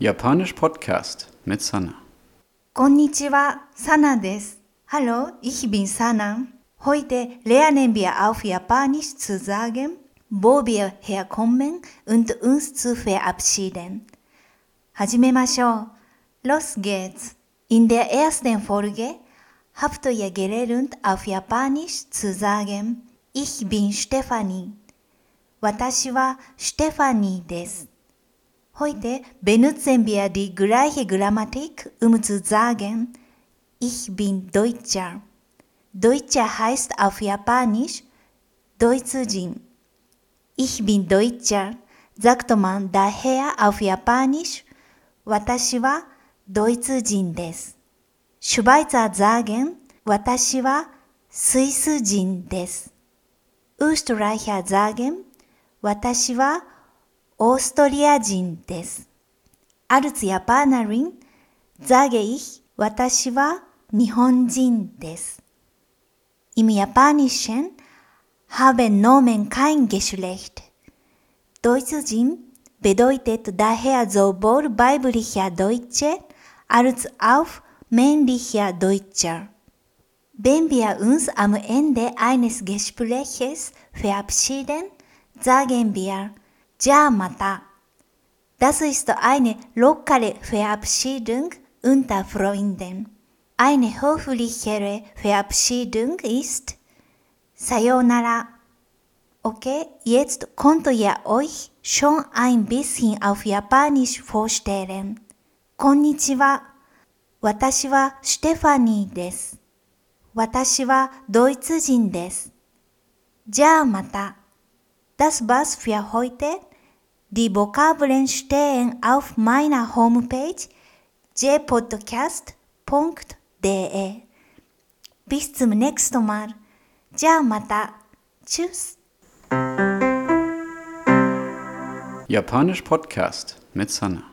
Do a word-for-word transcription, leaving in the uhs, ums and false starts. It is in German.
Japanisch Podcast mit Sana. こんにちは、サナです。Hallo, ich bin Sana. Heute lernen wir auf Japanisch zu sagen, wo wir herkommen und uns zu verabschieden. 始めましょう。Los geht's. In der ersten Folge habt ihr gelernt, auf Japanisch zu sagen, ich bin Stefanie. 私はステファニーです。Heute benutzen wir die gleiche Grammatik, um zu sagen, ich bin Deutscher. Deutscher heißt auf Japanisch Deutschin. Ich bin Deutscher, sagt man daher auf Japanisch, 私はドイツ人です。Schweizer sagen, 私はスイス人です。Österreicher sagen, 私はオーストリア人です。Als Japanerin sage ich, 私は日本人です。Im Japanischen haben Nomen kein Geschlecht. Deutschin bedeutet daher sowohl weiblicher Deutsche als auch männlicher Deutscher. Wenn wir uns am Ende eines Gespräches verabschieden, sagen wir, じゃあまた。Das ist eine lockere Verabschiedung unter Freunden. Eine höflichere Verabschiedung ist さようなら。Okay, jetzt könnt ihr euch schon ein bisschen auf Japanisch vorstellen. こんにちは。私はステファニーです。私はドイツ人です。じゃあまた。Das war's für heute. Die Vokabeln stehen auf meiner Homepage j podcast punkt de. Bis zum nächsten Mal. じゃあまた。Tschüss. Japanisch Podcast mit Sana.